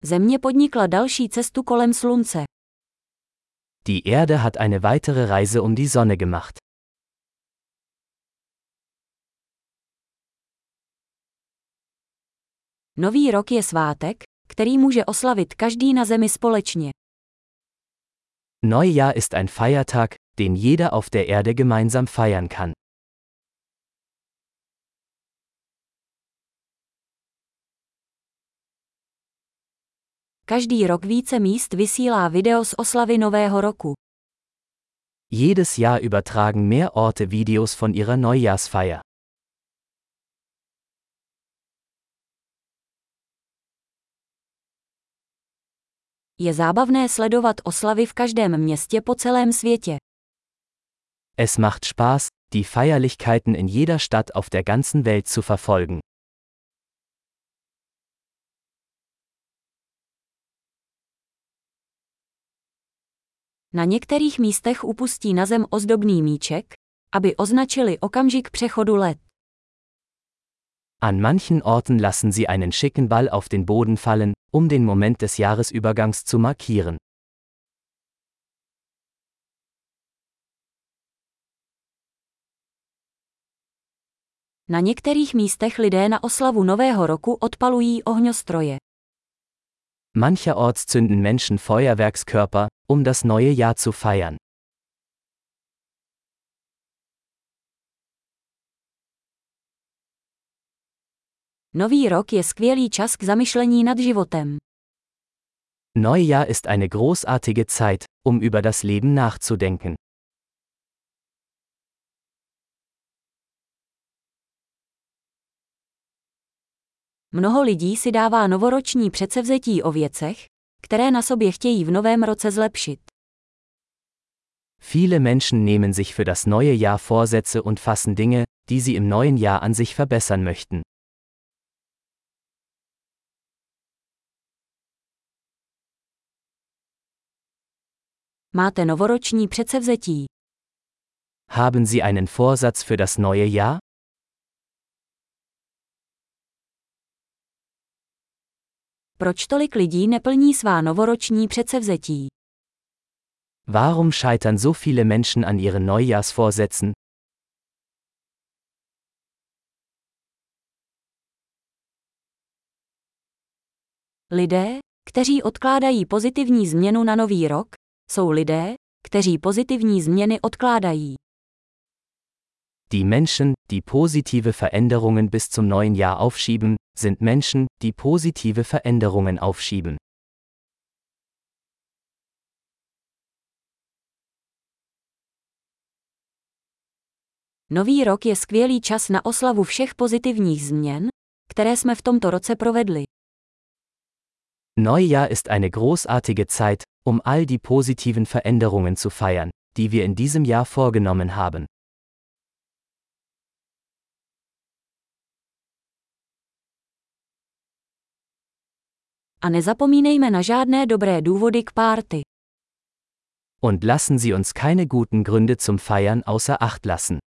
Země podnikla další cestu kolem slunce. Die Erde hat eine weitere Reise um die Sonne gemacht. Nový rok je svátek, který může oslavit každý na zemi společně. Neujahr ist ein Feiertag, den jeder auf der Erde gemeinsam feiern kann. Každý rok více míst vysílá video z oslavy Nového roku. Jedes Jahr übertragen mehr Orte Videos von ihrer Neujahrsfeier. Je zábavné sledovat oslavy v každém městě po celém světě. Es macht Spaß, die Feierlichkeiten in jeder Stadt auf der ganzen Welt zu verfolgen. Na některých místech upustí na zem ozdobný míček, aby označili okamžik přechodu let. An manchen Orten lassen sie einen schicken Ball auf den Boden fallen, um den Moment des Jahresübergangs zu markieren. Na některých místech lidé na oslavu Nového roku odpalují ohňostroje. Mancherorts zünden Menschen Feuerwerkskörper, um das neue Jahr zu feiern. Nový rok je skvělý čas k zamyšlení nad životem. Neujahr ist eine großartige Zeit, um über das Leben nachzudenken. Mnoho lidí si dává novoroční předsevzetí o věcech, které na sobě chtějí v novém roce zlepšit. Viele Menschen nehmen sich für das neue Jahr Vorsätze und fassen Dinge, die sie im neuen Jahr an sich verbessern möchten. Máte novoroční předsevzetí? Haben Sie einen Vorsatz für das neue Jahr? Proč tolik lidí neplní svá novoroční předsevzetí? Warum scheitern so viele Menschen an ihren Neujahrsvorsätzen? Lidé, kteří odkládají pozitivní změnu na nový rok, jsou lidé, kteří pozitivní změny odkládají. Die Menschen, die positive Veränderungen bis zum neuen Jahr aufschieben, sind Menschen, die positive Veränderungen aufschieben. Nový rok je skvělý čas na oslavu všech pozitivních změn, které jsme v tomto roce provedli. Neujahr ist eine großartige Zeit, um all die positiven Veränderungen zu feiern, die wir in diesem Jahr vorgenommen haben. A nezapomínejme na žádné dobré důvody k párty. Und lassen Sie uns keine guten Gründe zum Feiern außer Acht lassen.